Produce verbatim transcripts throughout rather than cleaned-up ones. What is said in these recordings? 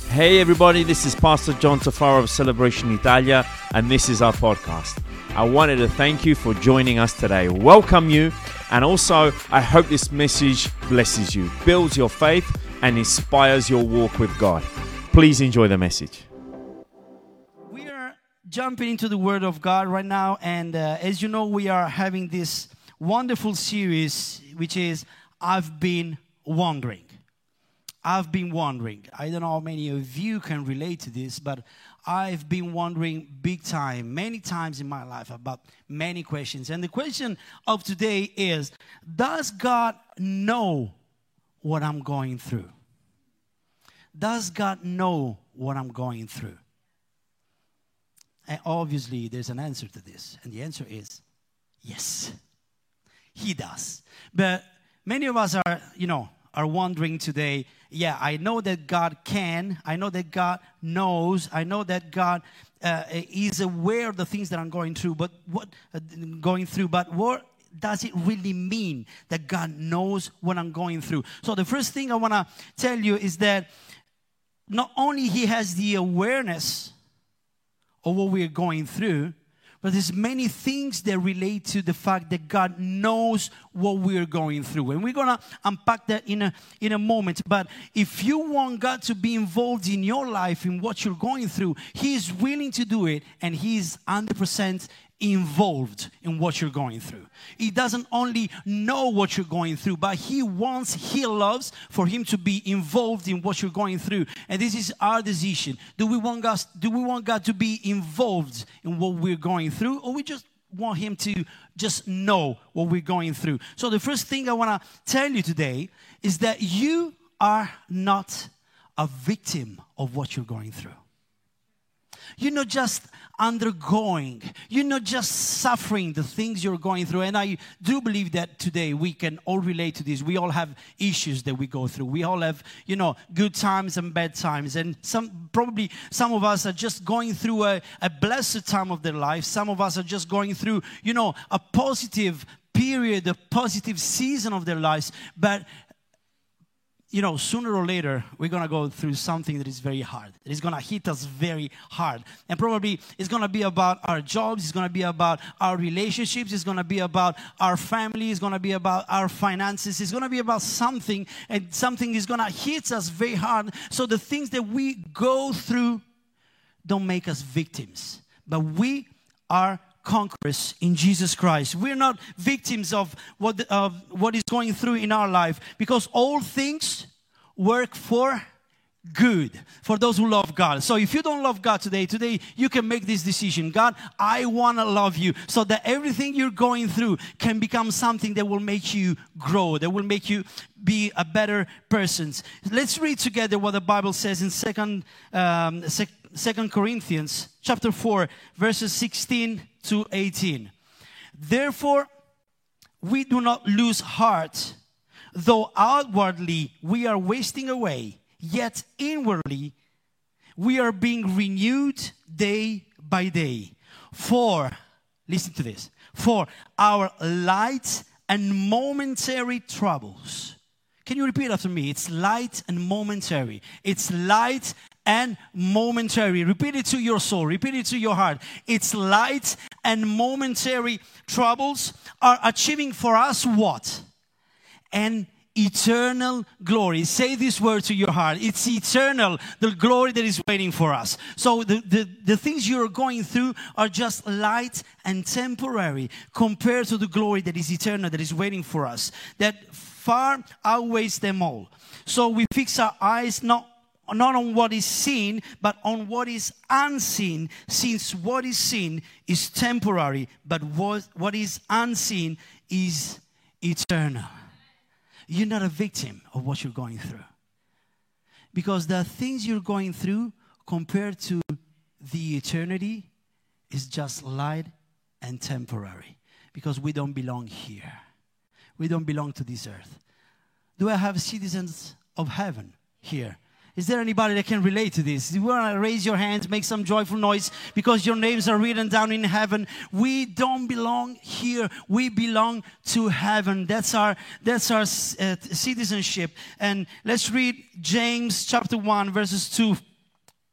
Hey everybody, this is Pastor John Tafaro of Celebration Italia, and this is our podcast. I wanted to thank you for joining us today, welcome you, and also I hope this message blesses you, builds your faith, and inspires your walk with God. Please enjoy the message. We are jumping into the Word of God right now, and uh, as you know, we are having this wonderful series, which is I've Been Wondering. I've been wondering. I don't know how many of you can relate to this, but I've been wondering big time, many times in my life about many questions. And the question of today is, does God know what I'm going through? Does God know what I'm going through? And obviously, there's an answer to this. And the answer is yes, He does. But many of us are, you know, are wondering today, yeah, I know that God can, I know that God knows, I know that God uh, is aware of the things that I'm going through, but what uh, going through, but what does it really mean that God knows what I'm going through? So the first thing I want to tell you is that not only He has the awareness of what we're going through, but there's many things that relate to the fact that God knows what we're going through. And we're going to unpack that in a, in a moment. But if you want God to be involved in your life, in what you're going through, He's willing to do it, and He's one hundred percent involved in what you're going through. He doesn't only know what you're going through, but He wants, He loves for Him to be involved in what you're going through. And this is our decision. Do we want God, do we want God to be involved in what we're going through, or we just want Him to just know what we're going through? So the first thing I want to tell you today is that you are not a victim of what you're going through. You're not just undergoing. You're not just suffering the things you're going through. And I do believe that today we can all relate to this. We all have issues that we go through. We all have, you know, good times and bad times. And some probably some of us are just going through a, a blessed time of their life. Some of us are just going through, you know, a positive period, a positive season of their lives. But you know, sooner or later, we're going to go through something that is very hard. That is going to hit us very hard. And probably it's going to be about our jobs. It's going to be about our relationships. It's going to be about our family. It's going to be about our finances. It's going to be about something. And something is going to hit us very hard. So the things that we go through don't make us victims. But we are conquerors in Jesus Christ. We're not victims of what the, of what is going through in our life, because all things work for good for those who love God. So if you don't love God today, today you can make this decision. God, I want to love you, so that everything you're going through can become something that will make you grow, that will make you be a better person. Let's read together what the Bible says in Second um, sec- Second Corinthians chapter four, verses sixteen to eighteen. Therefore, we do not lose heart, though outwardly we are wasting away, yet inwardly we are being renewed day by day. For, listen to this, for our light and momentary troubles. Can you repeat after me? It's light and momentary. It's light and momentary. Repeat it to your soul. Repeat it to your heart. It's light and momentary troubles are achieving for us what? An eternal glory. Say this word to your heart. It's eternal, the glory that is waiting for us. So the, the, the things you're going through are just light and temporary compared to the glory that is eternal, that is waiting for us, that far outweighs them all. So we fix our eyes not not on what is seen, but on what is unseen, since what is seen is temporary, but what, what is unseen is eternal. You're not a victim of what you're going through, because the things you're going through compared to the eternity is just light and temporary, because we don't belong here. We don't belong to this earth. Do I have citizens of heaven here? Is there anybody that can relate to this? You want to raise your hands, make some joyful noise, because your names are written down in heaven. We don't belong here. We belong to heaven. That's our that's our uh, citizenship. And let's read James chapter one, verses two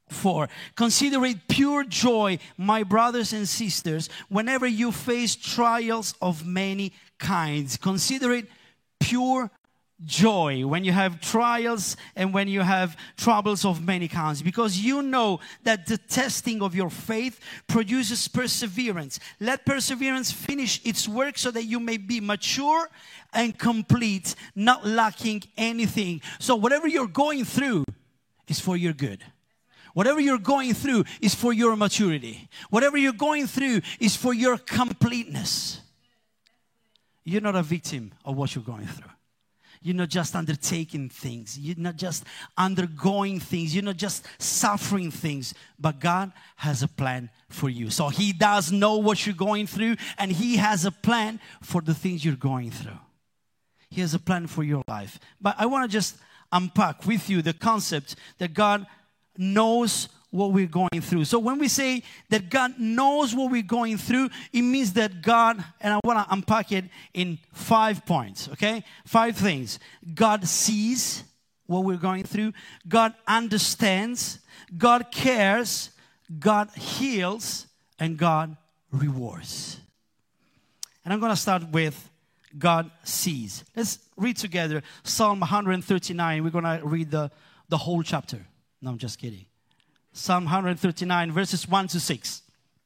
four. Consider it pure joy, my brothers and sisters, whenever you face trials of many kinds. Consider it pure joy when you have trials and when you have troubles of many kinds, because you know that the testing of your faith produces perseverance. Let perseverance finish its work so that you may be mature and complete, not lacking anything. So whatever you're going through is for your good. Whatever you're going through is for your maturity. Whatever you're going through is for your completeness. You're not a victim of what you're going through. You're not just undertaking things. You're not just undergoing things. You're not just suffering things. But God has a plan for you. So He does know what you're going through, and He has a plan for the things you're going through. He has a plan for your life. But I want to just unpack with you the concept that God knows what we're going through. So when we say that God knows what we're going through, it means that God, and I want to unpack it in five points, okay? Five things. God sees what we're going through. God understands. God cares. God heals. And God rewards. And I'm going to start with God sees. Let's read together Psalm one thirty-nine. We're going to read the, the whole chapter. No, I'm just kidding. Psalm one thirty-nine, verses one to six.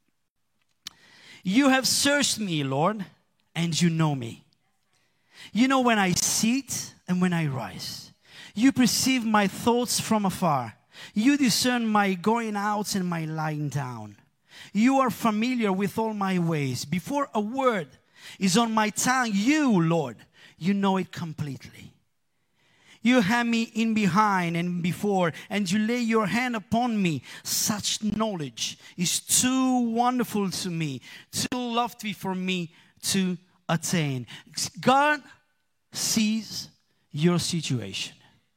You have searched me, Lord, and you know me. You know when I sit and when I rise. You perceive my thoughts from afar. You discern my going out and my lying down. You are familiar with all my ways. Before a word is on my tongue, you, Lord, you know it completely. You have me in behind and before, and you lay your hand upon me. Such knowledge is too wonderful to me, too lofty for me to attain. God sees your situation.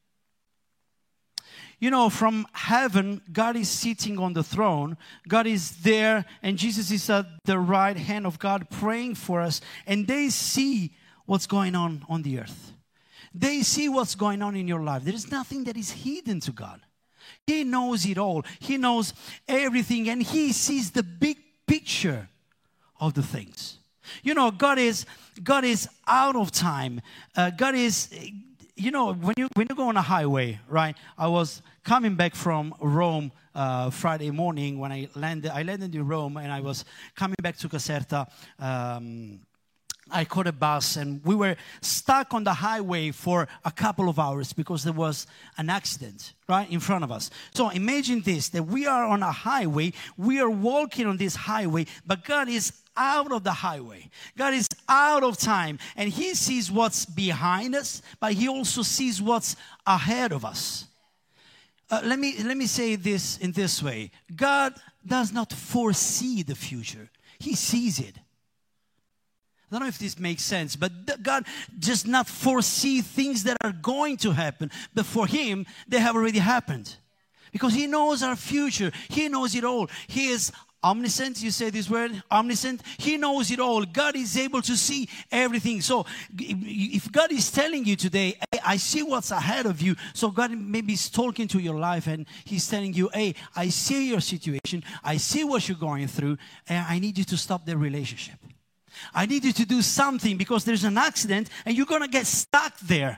You know, from heaven, God is sitting on the throne. God is there, and Jesus is at the right hand of God praying for us, and they see what's going on on the earth. They see what's going on in your life. There is nothing that is hidden to God. He knows it all. He knows everything, and He sees the big picture of the things. You know, God is God is out of time. Uh, God is, you know, when you when you go on a highway, right? I was coming back from Rome uh, Friday morning when I landed. I landed in Rome, and I was coming back to Caserta. Um, I caught a bus, and we were stuck on the highway for a couple of hours because there was an accident right in front of us. So imagine this, that we are on a highway, we are walking on this highway, but God is out of the highway. God is out of time, and He sees what's behind us, but He also sees what's ahead of us. Uh, let me, let me say this in this way. God does not foresee the future. He sees it. I don't know if this makes sense, but God does not foresee things that are going to happen, but for Him, they have already happened. Because He knows our future. He knows it all. He is omniscient. You say this word, omniscient. He knows it all. God is able to see everything. So if God is telling you today, hey, I see what's ahead of you. So God maybe is talking to your life, and He's telling you, hey, I see your situation. I see what you're going through, and I need you to stop the relationship. I need you to do something because there's an accident and you're going to get stuck there.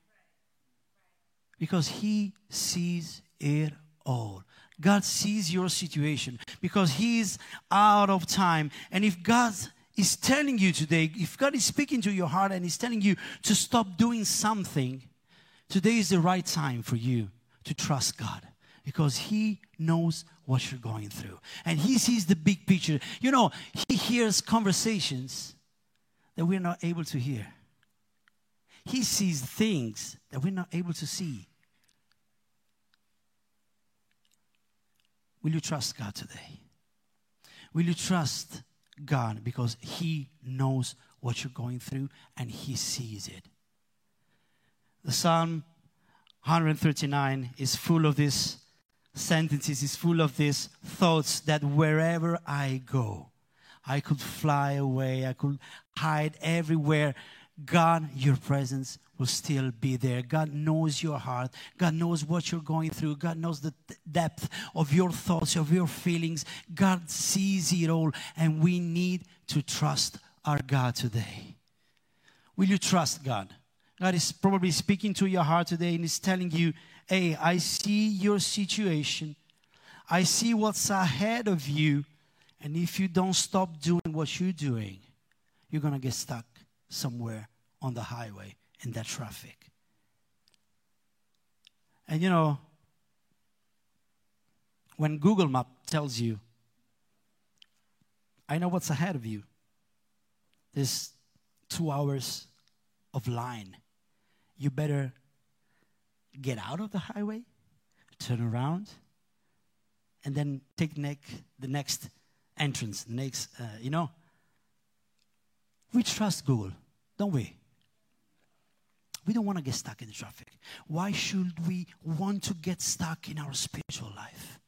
Because He sees it all. God sees your situation because He's out of time. And if God is telling you today, if God is speaking to your heart and He's telling you to stop doing something, today is the right time for you to trust God. Because He knows what you're going through. And He sees the big picture. You know, He hears conversations that we're not able to hear. He sees things that we're not able to see. Will you trust God today? Will you trust God because He knows what you're going through and He sees it? The Psalm one thirty-nine is full of this sentences, is full of these thoughts that wherever I go, I could fly away, I could hide everywhere. God, your presence will still be there. God knows your heart. God knows what you're going through. God knows the th- depth of your thoughts, of your feelings. God sees it all, and we need to trust our God today. Will you trust God? God is probably speaking to your heart today and is telling you, hey, I see your situation. I see what's ahead of you. And if you don't stop doing what you're doing, you're going to get stuck somewhere on the highway in that traffic. And you know, when Google Map tells you, I know what's ahead of you, there's two hours of line. You better get out of the highway, turn around, and then take ne- the next entrance, the next, uh, you know. We trust Google, don't we? We don't want to get stuck in the traffic. Why should we want to get stuck in our spiritual life?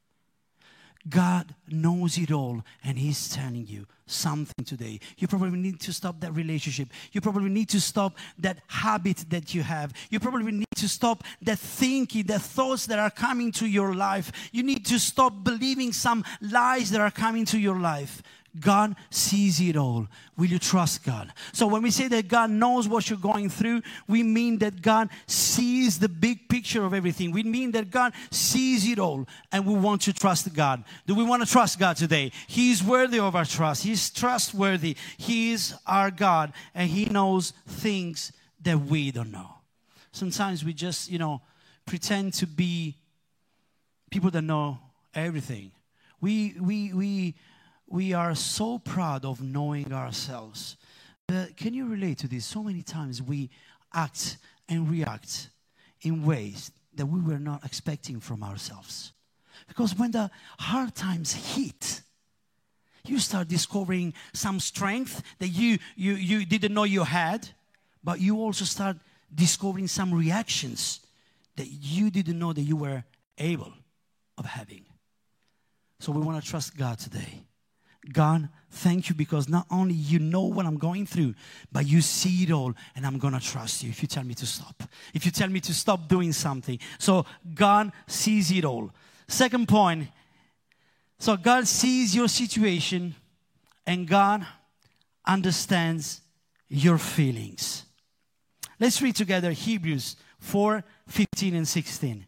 God knows it all, and He's telling you something today. You probably need to stop that relationship. You probably need to stop that habit that you have. You probably need to stop that thinking, the thoughts that are coming to your life. You need to stop believing some lies that are coming to your life. God sees it all. Will you trust God? So when we say that God knows what you're going through, we mean that God sees the big picture of everything. We mean that God sees it all, and we want to trust God. Do we want to trust God today? He is worthy of our trust. He is trustworthy. He is our God, and He knows things that we don't know. Sometimes we just, you know, pretend to be people that know everything. We, we, we, We are so proud of knowing ourselves. But can you relate to this? So many times we act and react in ways that we were not expecting from ourselves. Because when the hard times hit, you start discovering some strength that you, you, you didn't know you had, but you also start discovering some reactions that you didn't know that you were able of having. So we want to trust God today. God, thank you, because not only you know what I'm going through, but you see it all, and I'm going to trust you if you tell me to stop. If you tell me to stop doing something. So God sees it all. Second point, so God sees your situation, and God understands your feelings. Let's read together Hebrews four, fifteen and sixteen.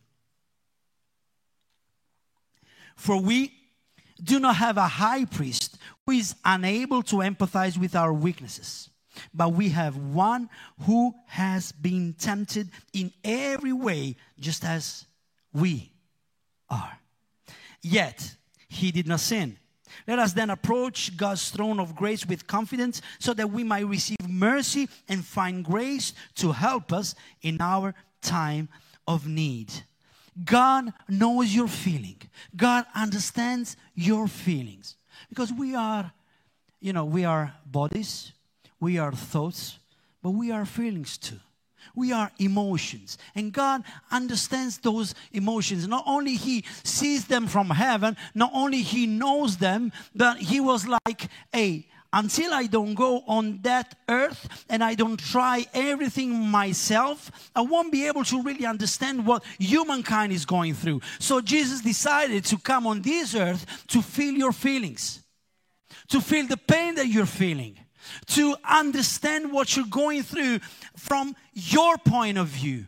For we do not have a high priest who is unable to empathize with our weaknesses, but we have one who has been tempted in every way, just as we are. Yet He did not sin. Let us then approach God's throne of grace with confidence, so that we might receive mercy and find grace to help us in our time of need. God knows your feeling. God understands your feelings. Because we are, you know, we are bodies, we are thoughts, but we are feelings too. We are emotions. And God understands those emotions. Not only He sees them from heaven, not only He knows them, but He was like, hey, until I don't go on that earth and I don't try everything myself, I won't be able to really understand what humankind is going through. So Jesus decided to come on this earth to feel your feelings, to feel the pain that you're feeling, to understand what you're going through from your point of view.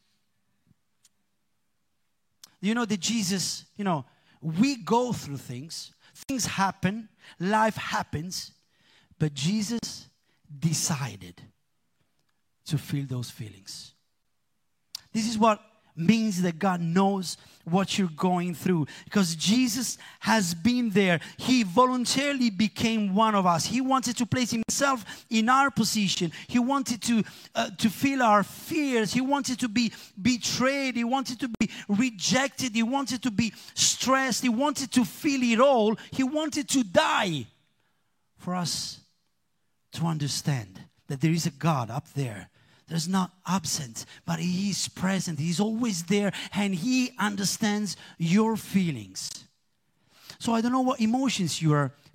You know that Jesus, you know, we go through things, things happen, life happens, but Jesus decided to feel those feelings. This is what means that God knows what you're going through, because Jesus has been there. He voluntarily became one of us. He wanted to place Himself in our position. He wanted to uh, to feel our fears. He wanted to be betrayed. He wanted to be rejected. He wanted to be stressed. He wanted to feel it all. He wanted to die for us to understand that there is a God up there that's not absent, but He is present. He's always there, and He understands your feelings. So I don't know what emotions you are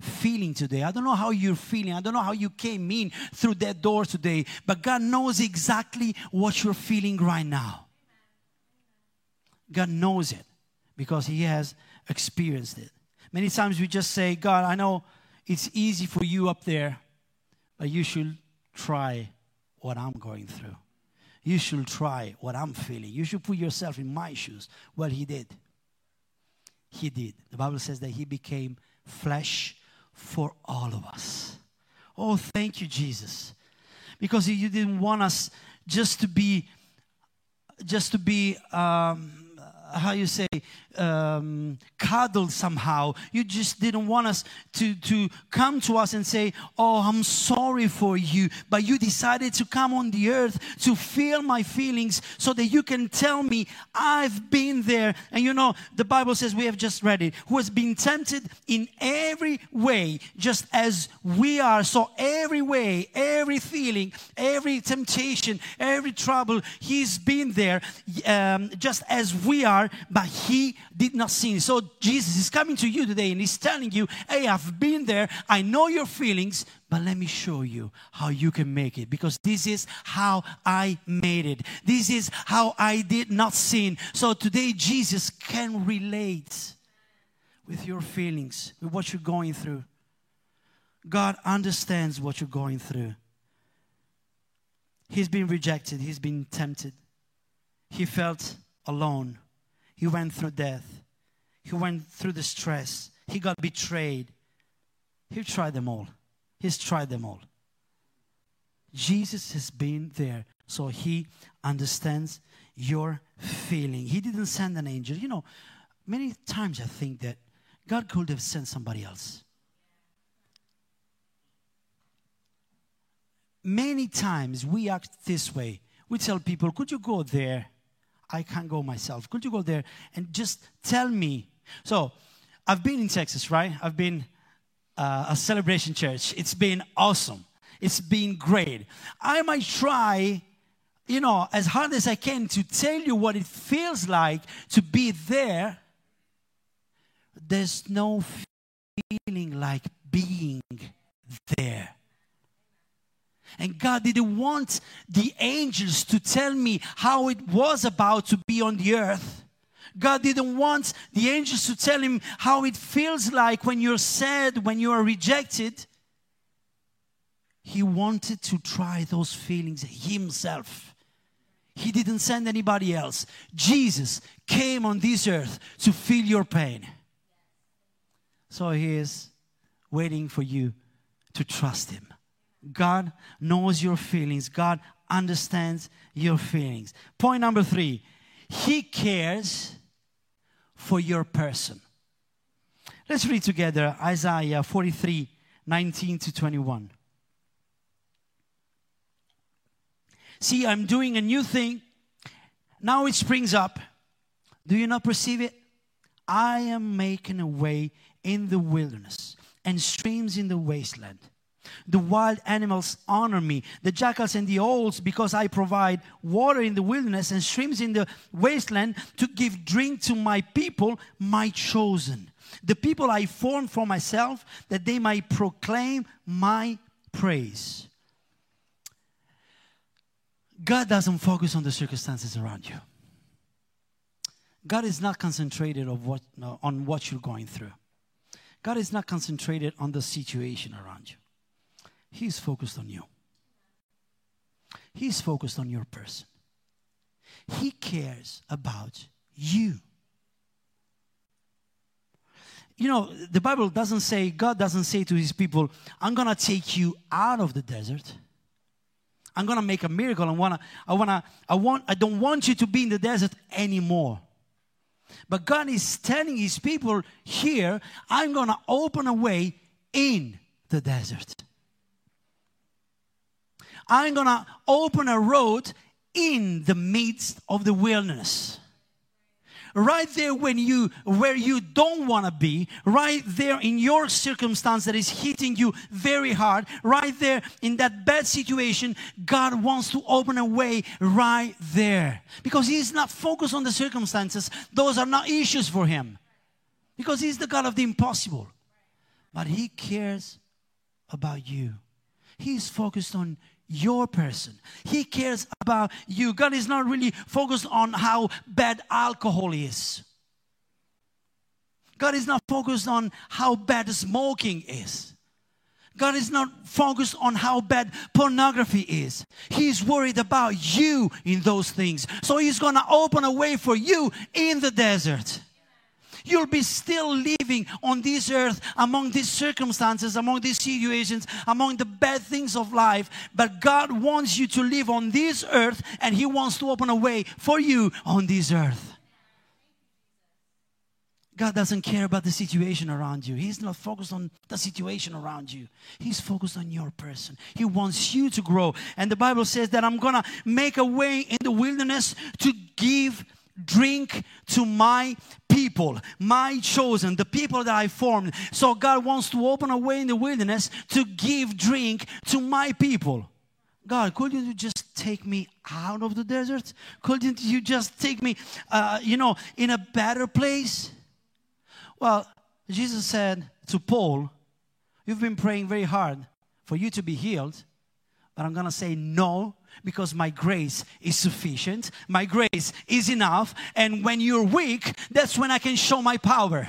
feeling today. I don't know how you're feeling. I don't know how you came in through that door today. But God knows exactly what you're feeling right now. God knows it because He has experienced it. Many times we just say, God, I know it's easy for you up there, but you should try what I'm going through. You should try what I'm feeling. You should put yourself in my shoes. Well, He did. He did. The Bible says that He became flesh for all of us. Oh, thank you, Jesus. Because You didn't want us just to be, just to be, um, how you say, um, cuddled somehow. You just didn't want us to, to come to us and say, oh, I'm sorry for you. But You decided to come on the earth to feel my feelings so that You can tell me I've been there. And you know, the Bible says, we have just read it, who has been tempted in every way, just as we are. So every way, every feeling, every temptation, every trouble, He's been there um, just as we are, but He did not sin. So Jesus is coming to you today and He's telling you, hey, I've been there. I know your feelings, but let me show you how you can make it. Because this is how I made it. This is how I did not sin. So today Jesus can relate with your feelings, with what you're going through. God understands what you're going through. He's been rejected. He's been tempted. He felt alone. He went through death. He went through the stress. He got betrayed. He tried them all. He's tried them all. Jesus has been there, so He understands your feeling. He didn't send an angel. You know, many times I think that God could have sent somebody else. Many times we act this way. We tell people, could you go there? I can't go myself. Could you go there and just tell me? So, I've been in Texas, right? I've been uh, a celebration church. It's been awesome. It's been great. I might try, you know, as hard as I can to tell you what it feels like to be there. There's no feeling like being there. And God didn't want the angels to tell me how it was about to be on the earth. God didn't want the angels to tell Him how it feels like when you're sad, when you are rejected. He wanted to try those feelings Himself. He didn't send anybody else. Jesus came on this earth to feel your pain. So He is waiting for you to trust Him. God knows your feelings. God understands your feelings. Point number three, He cares for your person. Let's read together Isaiah forty-three, nineteen to twenty-one. See, I'm doing a new thing. Now it springs up. Do you not perceive it? I am making a way in the wilderness and streams in the wasteland. The wild animals honor me, the jackals and the owls, because I provide water in the wilderness and streams in the wasteland to give drink to my people, my chosen. The people I formed for myself, that they might proclaim my praise. God doesn't focus on the circumstances around you. God is not concentrated on what, no, on what you're going through. God is not concentrated on the situation around you. He's focused on you. He's focused on your person. He cares about you. You know, the Bible doesn't say, God doesn't say to His people, I'm going to take you out of the desert. I'm going to make a miracle. I want to, I want to, I want, I don't want you to be in the desert anymore. But God is telling His people here, I'm going to open a way in the desert. I'm going to open a road in the midst of the wilderness. Right there when you, where you don't want to be, right there in your circumstance that is hitting you very hard, right there in that bad situation, God wants to open a way right there. Because He's not focused on the circumstances. Those are not issues for Him. Because He's the God of the impossible. but He cares about you. He's focused on your person. He cares about you. God is not really focused on how bad alcohol is. God is not focused on how bad smoking is. God is not focused on how bad pornography is. He's worried about you in those things. So He's going to open a way for you in the desert. You'll be still living on this earth among these circumstances, among these situations, among the bad things of life. But God wants you to live on this earth, and He wants to open a way for you on this earth. God doesn't care about the situation around you. He's not focused on the situation around you. He's focused on your person. He wants you to grow. And the Bible says that I'm going to make a way in the wilderness to give drink to my people, my chosen, the people that I formed. So God wants to open a way in the wilderness to give drink to my people. God, couldn't you just take me out of the desert? Couldn't you just take me, uh, you know, in a better place? Well, Jesus said to Paul, you've been praying very hard for you to be healed, but I'm going to say no, because my grace is sufficient. My grace is enough. And when you're weak, that's when I can show my power.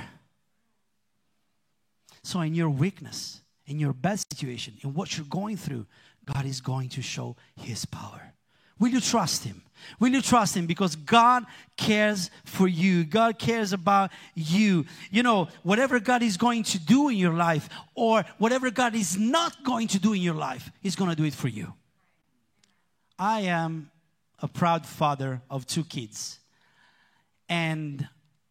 So in your weakness, in your bad situation, in what you're going through, God is going to show His power. Will you trust Him? Will you trust Him? Because God cares for you. God cares about you. You know, whatever God is going to do in your life, or whatever God is not going to do in your life, He's going to do it for you. I am a proud father of two kids. And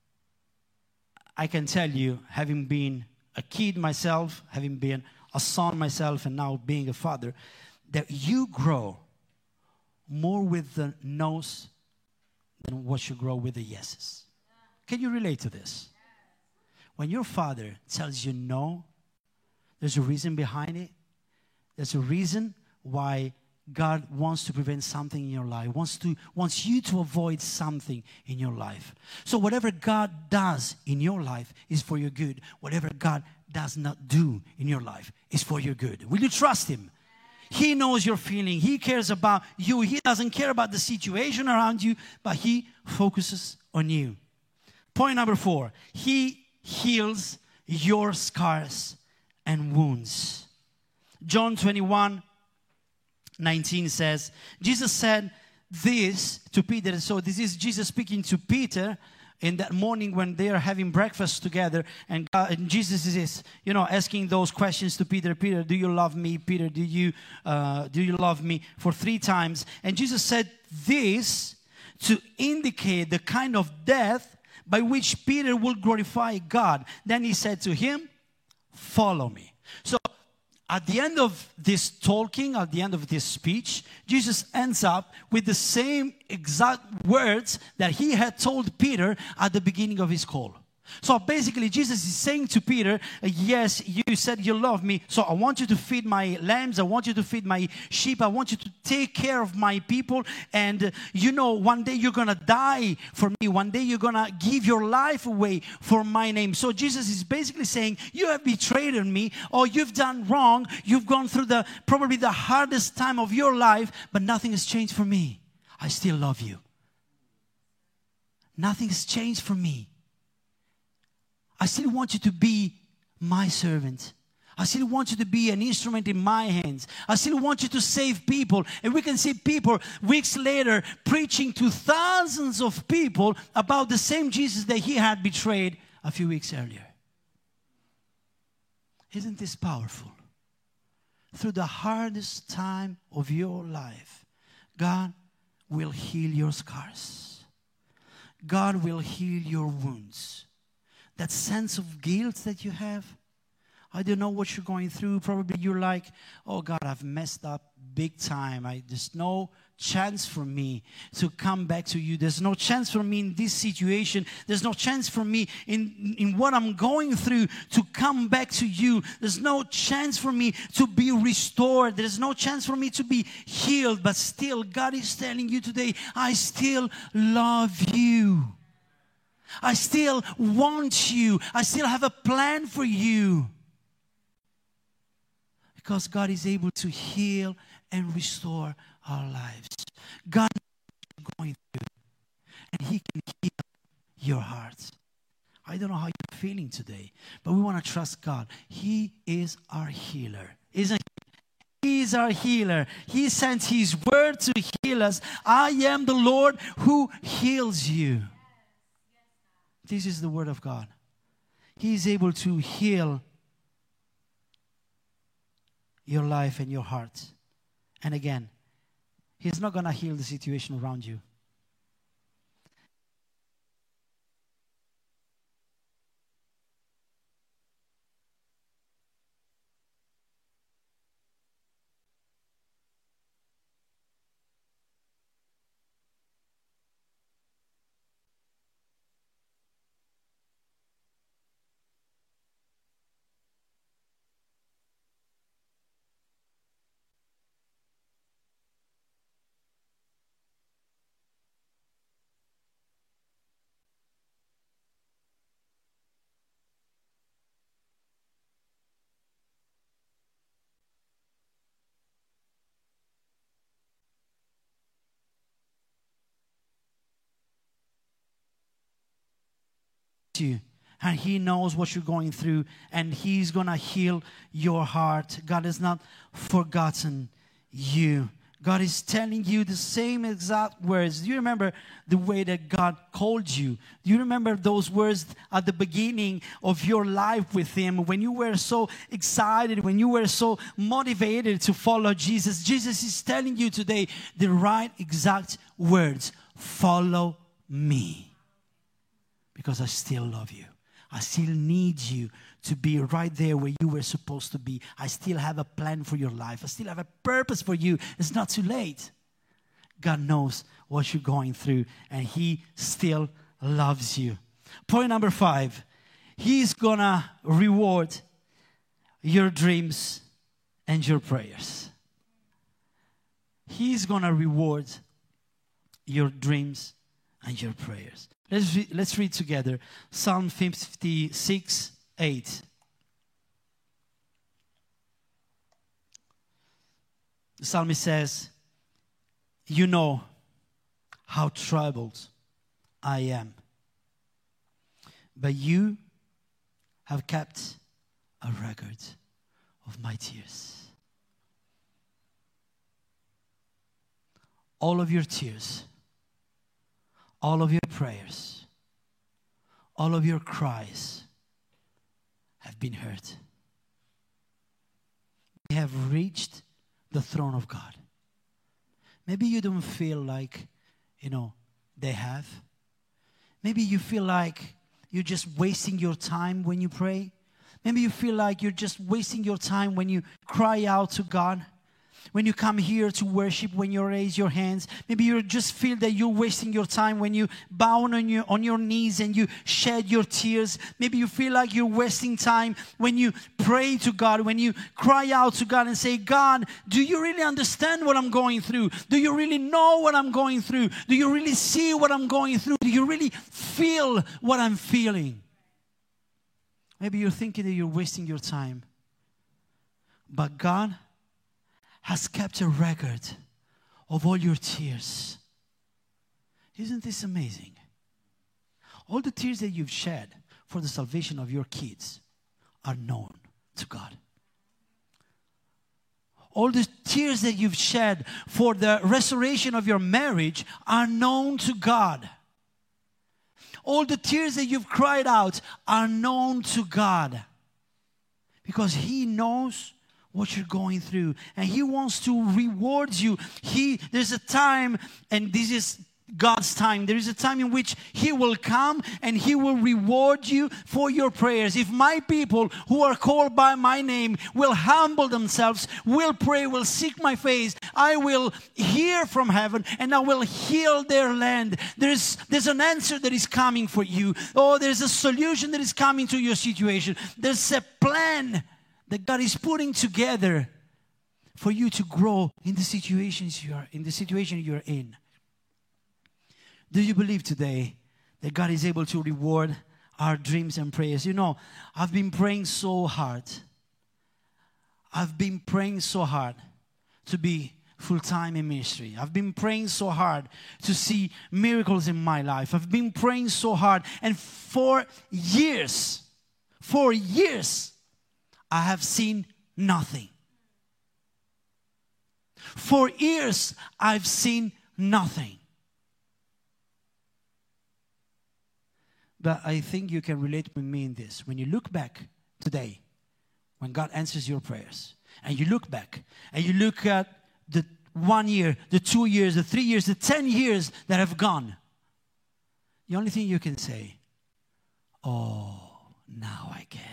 I can tell you, having been a kid myself, having been a son myself, and now being a father, that you grow more with the no's than what you grow with the yeses. Can you relate to this? When your father tells you no, there's a reason behind it. There's a reason why God wants to prevent something in your life, wants to wants you to avoid something in your life. So whatever God does in your life is for your good. Whatever God does not do in your life is for your good. Will you trust Him? He knows your feeling. He cares about you. He doesn't care about the situation around you, but He focuses on you. Point number four. He heals your scars and wounds. John twenty-one nineteen says, Jesus said this to Peter. So this is Jesus speaking to Peter in that morning when they are having breakfast together, and, God, and Jesus is, you know, asking those questions to Peter. Peter, do you love me? Peter, do you uh, do you love me? For three times. And Jesus said this to indicate the kind of death by which Peter will glorify God. Then He said to him, follow me. So at the end of this talking, at the end of this speech, Jesus ends up with the same exact words that He had told Peter at the beginning of His call. So basically, Jesus is saying to Peter, yes, you said you love me, so I want you to feed my lambs, I want you to feed my sheep, I want you to take care of my people, and uh, you know, one day you're going to die for me, one day you're going to give your life away for my name. So Jesus is basically saying, you have betrayed me, or you've done wrong, you've gone through the probably the hardest time of your life, but nothing has changed for me. I still love you. Nothing has changed for me. I still want you to be my servant. I still want you to be an instrument in my hands. I still want you to save people. And we can see people weeks later preaching to thousands of people about the same Jesus that He had betrayed a few weeks earlier. Isn't this powerful? Through the hardest time of your life, God will heal your scars. God will heal your wounds. That sense of guilt that you have, I don't know what you're going through. Probably you're like, oh God, I've messed up big time. I, there's no chance for me to come back to you. There's no chance for me in this situation. There's no chance for me in, in what I'm going through to come back to you. There's no chance for me to be restored. There's no chance for me to be healed. But still, God is telling you today, I still love you. I still want you. I still have a plan for you. Because God is able to heal and restore our lives. God knows what you're going through, and He can heal your heart. I don't know how you're feeling today, but we want to trust God. He is our healer, isn't He? He is our healer. He sent His word to heal us. I am the Lord who heals you. This is the word of God. He is able to heal your life and your heart. And again, He's not going to heal the situation around you. You, and He knows what you're going through, and He's gonna heal your heart. God has not forgotten you. God is telling you the same exact words. Do you remember the way that God called you? Do you remember those words at the beginning of your life with Him, when you were so excited, when you were so motivated to follow Jesus? Jesus is telling you today the right exact words. Follow me. Because I still love you. I still need you to be right there where you were supposed to be. I still have a plan for your life. I still have a purpose for you. It's not too late. God knows what you're going through, and He still loves you. Point number five. He's gonna reward your dreams and your prayers. He's gonna reward your dreams and your prayers. Let's, re- let's read together Psalm fifty-six, eight. The psalmist says, you know how troubled I am, but you have kept a record of my tears. All of your tears, all of your prayers, all of your cries have been heard. They have reached the throne of God. Maybe you don't feel like, you know, they have. Maybe you feel like you're just wasting your time when you pray. Maybe you feel like you're just wasting your time when you cry out to God. When you come here to worship, when you raise your hands, maybe you just feel that you're wasting your time when you bow on your, on your knees and you shed your tears. Maybe you feel like you're wasting time when you pray to God, when you cry out to God and say, God, do you really understand what I'm going through? Do you really know what I'm going through? Do you really see what I'm going through? Do you really feel what I'm feeling? Maybe you're thinking that you're wasting your time. But God has kept a record of all your tears. Isn't this amazing? All the tears that you've shed for the salvation of your kids are known to God. All the tears that you've shed for the restoration of your marriage are known to God. All the tears that you've cried out are known to God. Because He knows what you're going through, and He wants to reward you. He, there's a time, and this is God's time. There is a time in which He will come and He will reward you for your prayers. If my people who are called by my name will humble themselves, will pray, will seek my face, I will hear from heaven and I will heal their land. There's, there's an answer that is coming for you. Oh, there's a solution that is coming to your situation. There's a plan that God is putting together for you to grow in the situations you are in, the situation you're in. Do you believe today that God is able to reward our dreams and prayers? You know, I've been praying so hard. I've been praying so hard to be full-time in ministry. I've been praying so hard to see miracles in my life. I've been praying so hard. And for years, for years, I have seen nothing. For years, I've seen nothing. But I think you can relate with me in this. When you look back today, when God answers your prayers, and you look back, and you look at the one year, the two years, the three years, the ten years that have gone, the only thing you can say, oh, now I get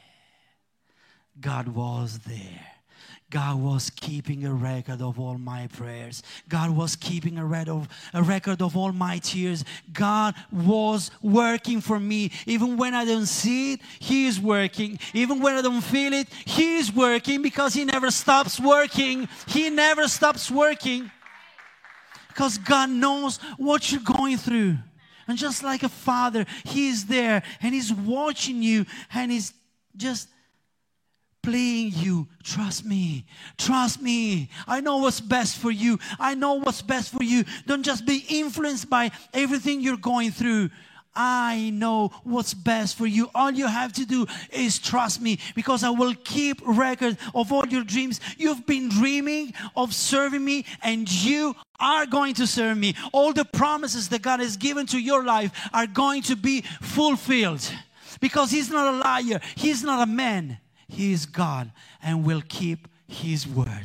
it. God was there. God was keeping a record of all my prayers. God was keeping a record of, a record of all my tears. God was working for me. Even when I don't see it, He is working. Even when I don't feel it, He is working, because He never stops working. He never stops working. Because God knows what you're going through. And just like a father, He is there and He's watching you and He's just playing you. Trust me. Trust me. I know what's best for you. I know what's best for you. Don't just be influenced by everything you're going through. I know what's best for you. All you have to do is trust me, because I will keep record of all your dreams. You've been dreaming of serving me, and you are going to serve me. All the promises that God has given to your life are going to be fulfilled, because He's not a liar. He's not a man. He is God and will keep His word.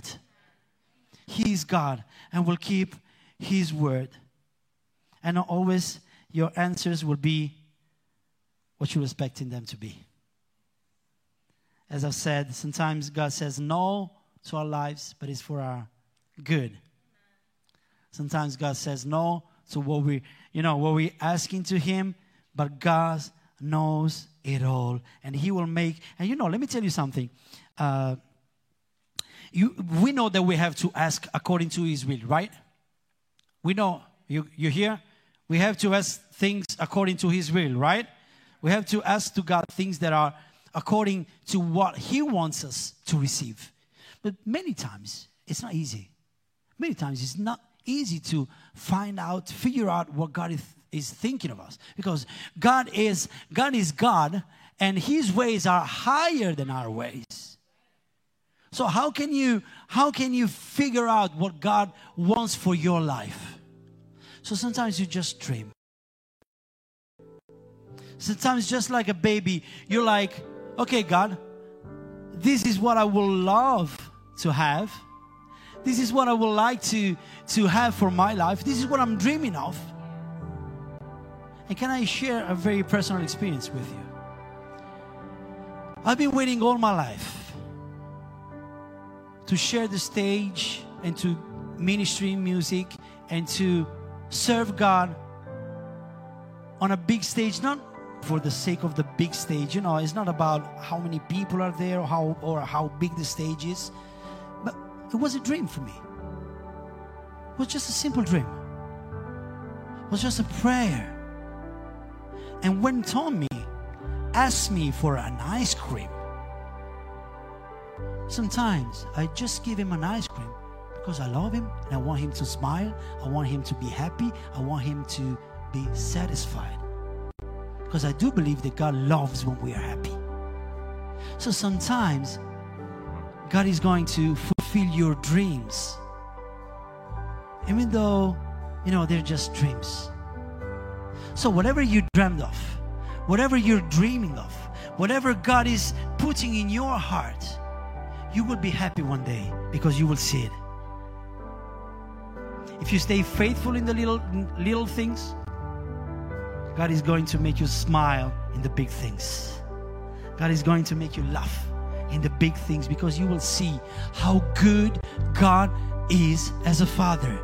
He is God and will keep His word. And always your answers will be what you're expecting them to be. As I've said, sometimes God says no to our lives, but it's for our good. Sometimes God says no to what we, you know, what we're asking to Him, but God knows it all, and He will make. And you know, let me tell you something. Uh, you, we know that we have to ask according to His will, right? We know. You, you hear? We have to ask things according to His will, right? We have to ask to God things that are according to what He wants us to receive. But many times, it's not easy. Many times, it's not easy to find out, figure out what God is is thinking of us, because God is God is God, and His ways are higher than our ways. So how can you how can you figure out what God wants for your life? So sometimes you just dream. Sometimes, just like a baby, you're like, okay, God, this is what I will love to have. This is what I would like to to have for my life. This is what I'm dreaming of. And can I share a very personal experience with you? I've been waiting all my life to share the stage and to ministry music and to serve God on a big stage, not for the sake of the big stage. You know, it's not about how many people are there or how, or how big the stage is. But it was a dream for me. It was just a simple dream. It was just a prayer. And when Tommy asked me for an ice cream, sometimes I just give him an ice cream because I love him and I want him to smile. I want him to be happy. I want him to be satisfied. Because I do believe that God loves when we are happy. So sometimes God is going to fulfill your dreams, even though, you know, they're just dreams. So whatever you dreamed of, whatever you're dreaming of, whatever God is putting in your heart, you will be happy one day because you will see it. If you stay faithful in the little little things, God is going to make you smile in the big things. God is going to make you laugh in the big things, because you will see how good God is as a father.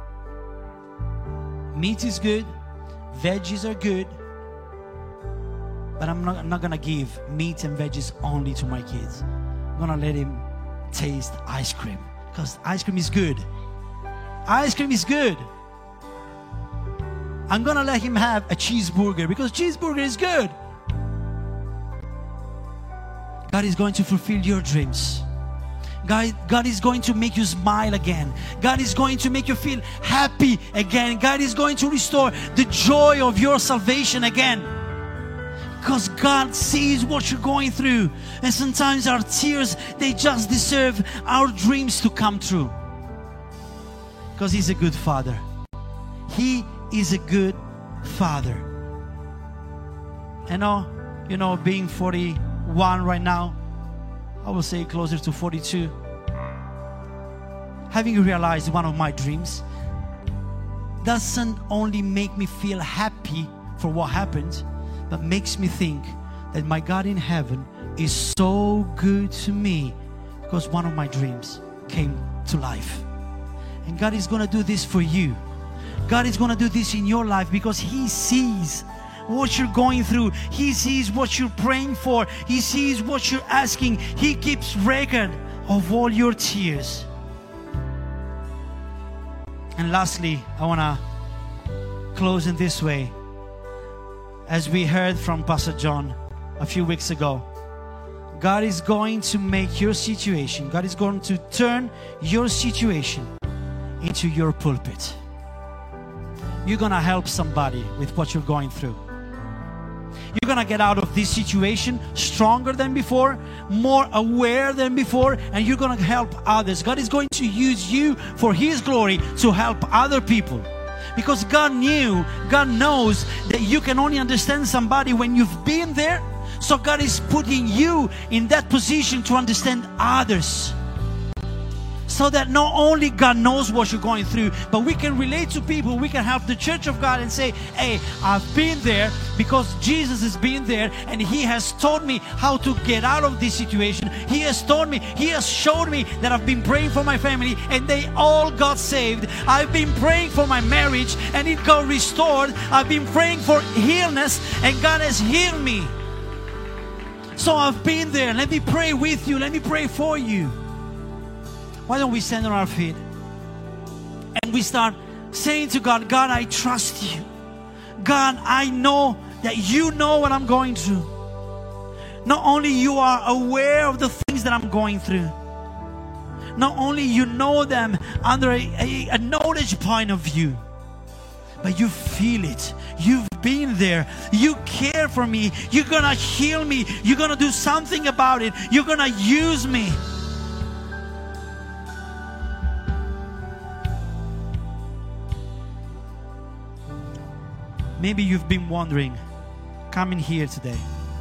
Meat is good. Veggies are good, but I'm not, I'm not gonna give meat and veggies only to my kids. I'm gonna let him taste ice cream, because ice cream is good. Ice cream is good. I'm gonna let him have a cheeseburger, because cheeseburger is good. God is going to fulfill your dreams. God, God is going to make you smile again. God is going to make you feel happy again. God is going to restore the joy of your salvation again. Because God sees what you're going through. And sometimes our tears, they just deserve our dreams to come true. Because He's a good Father. He is a good Father. And now, you know, being forty-one right now, I will say closer to forty-two. Having realized one of my dreams doesn't only make me feel happy for what happened, but makes me think that my God in heaven is so good to me because one of my dreams came to life. And God is going to do this for you. God is going to do this in your life because He sees what you're going through. He sees what you're praying for. He sees what you're asking. He keeps record of all your tears. And lastly, I want to close in this way. As we heard from Pastor John a few weeks ago, God is going to make your situation, God is going to turn your situation into your pulpit. You're going to help somebody with what you're going through. You're going to get out of this situation stronger than before, more aware than before, and you're going to help others. God is going to use you for His glory to help other people. Because God knew, God knows that you can only understand somebody when you've been there. So God is putting you in that position to understand others. So that not only God knows what you're going through, but we can relate to people. We can help the church of God and say, hey, I've been there because Jesus has been there and He has taught me how to get out of this situation. He has taught me, He has showed me that I've been praying for my family and they all got saved. I've been praying for my marriage and it got restored. I've been praying for illness and God has healed me. So I've been there. Let me pray with you. Let me pray for you. Why don't we stand on our feet and we start saying to God, God, I trust you. God, I know that you know what I'm going through. Not only you are aware of the things that I'm going through. Not only you know them under a, a, a knowledge point of view, but you feel it. You've been there. You care for me. You're going to heal me. You're going to do something about it. You're going to use me. Maybe you've been wondering, coming here today,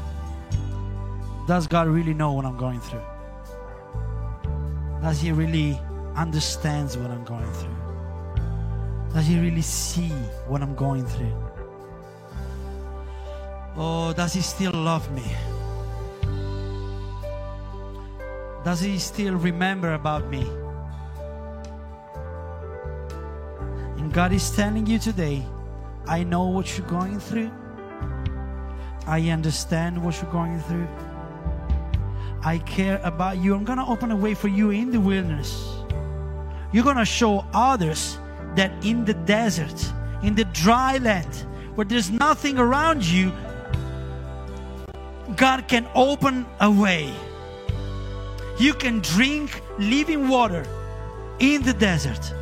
does God really know what I'm going through? Does He really understand what I'm going through? Does He really see what I'm going through? Oh, does He still love me? Does He still remember about me? And God is telling you today, I know what you're going through. I understand what you're going through. I care about you. I'm going to open a way for you in the wilderness. You're going to show others that in the desert, in the dry land, where there's nothing around you, God can open a way. You can drink living water in the desert.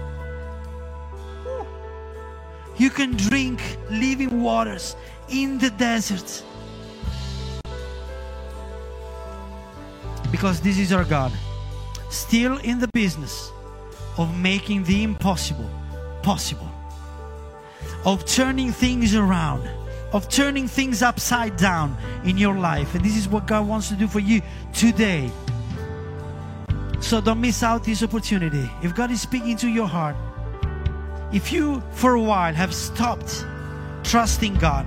You can drink living waters in the desert. Because this is our God, still in the business of making the impossible possible, of turning things around, of turning things upside down in your life. And this is what God wants to do for you today. So don't miss out this opportunity. If God is speaking to your heart, if you for a while have stopped trusting God,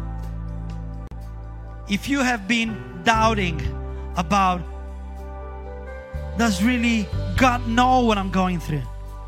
if you have been doubting about, does really God know what I'm going through?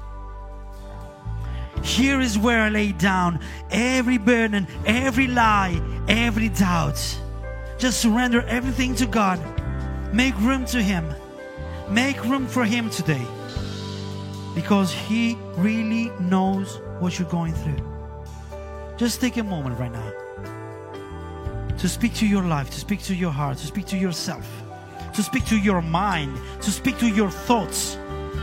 Here is where I lay down every burden, every lie, every doubt. Just surrender everything to God. Make room to Him. Make room for Him today. Because He really knows what you're going through. Just take a moment right now to speak to your life, to speak to your heart, to speak to yourself, to speak to your mind, to speak to your thoughts.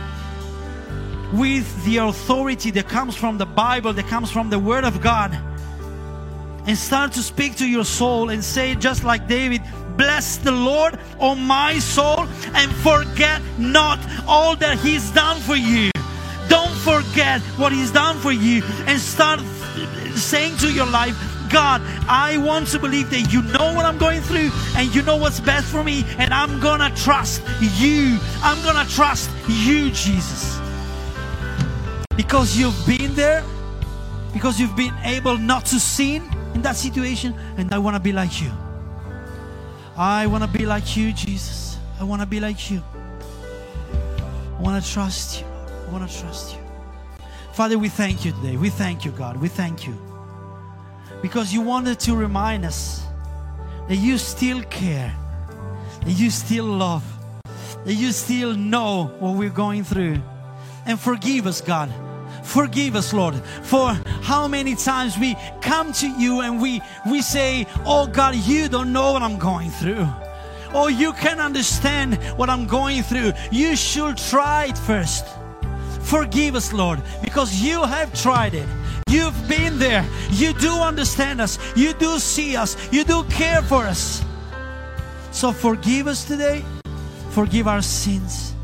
With the authority that comes from the Bible, that comes from the Word of God. And start to speak to your soul and say, just like David, bless the Lord, O my soul, and forget not all that He's done for you. Don't forget what He's done for you, and start saying to your life, God, I want to believe that you know what I'm going through and you know what's best for me, and I'm gonna trust you. I'm gonna trust you, Jesus. Because you've been there, because you've been able not to sin in that situation, and I want to be like you. I want to be like you, Jesus. I want to be like you. I want to trust you. I want to trust you. Father, we thank you today. We thank you, God. We thank you. Because you wanted to remind us that you still care, that you still love, that you still know what we're going through. And forgive us, God. Forgive us, Lord, for how many times we come to you and we, we say, oh God, you don't know what I'm going through. Oh, you can understand what I'm going through. You should try it first. Forgive us, Lord, because you have tried it. You've been there. You do understand us. You do see us. You do care for us. So forgive us today. Forgive our sins.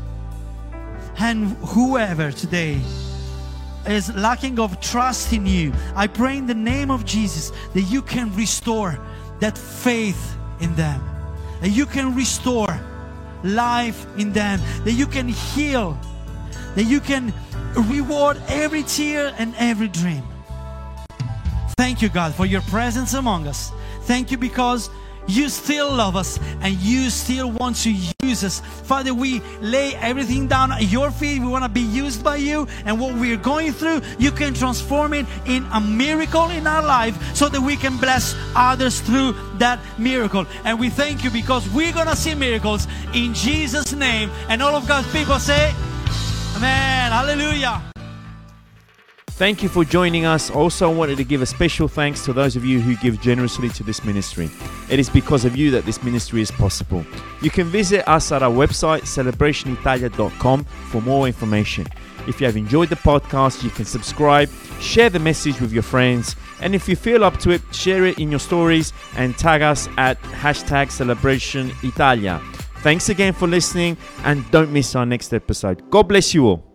And whoever today is lacking of trust in you, I pray in the name of Jesus that you can restore that faith in them, that you can restore life in them, that you can heal, that you can reward every tear and every dream. Thank you, God, for your presence among us. Thank you because you still love us and you still want to use us. Father, we lay everything down at your feet. We want to be used by you, and what we're going through, you can transform it in a miracle in our life so that we can bless others through that miracle. And we thank you because we're going to see miracles in Jesus' name. And all of God's people say, Amen. Hallelujah. Thank you for joining us. Also, I wanted to give a special thanks to those of you who give generously to this ministry. It is because of you that this ministry is possible. You can visit us at our website, celebration italia dot com, for more information. If you have enjoyed the podcast, you can subscribe, share the message with your friends, and if you feel up to it, share it in your stories and tag us at hashtag Celebration Italia. Thanks again for listening, and don't miss our next episode. God bless you all.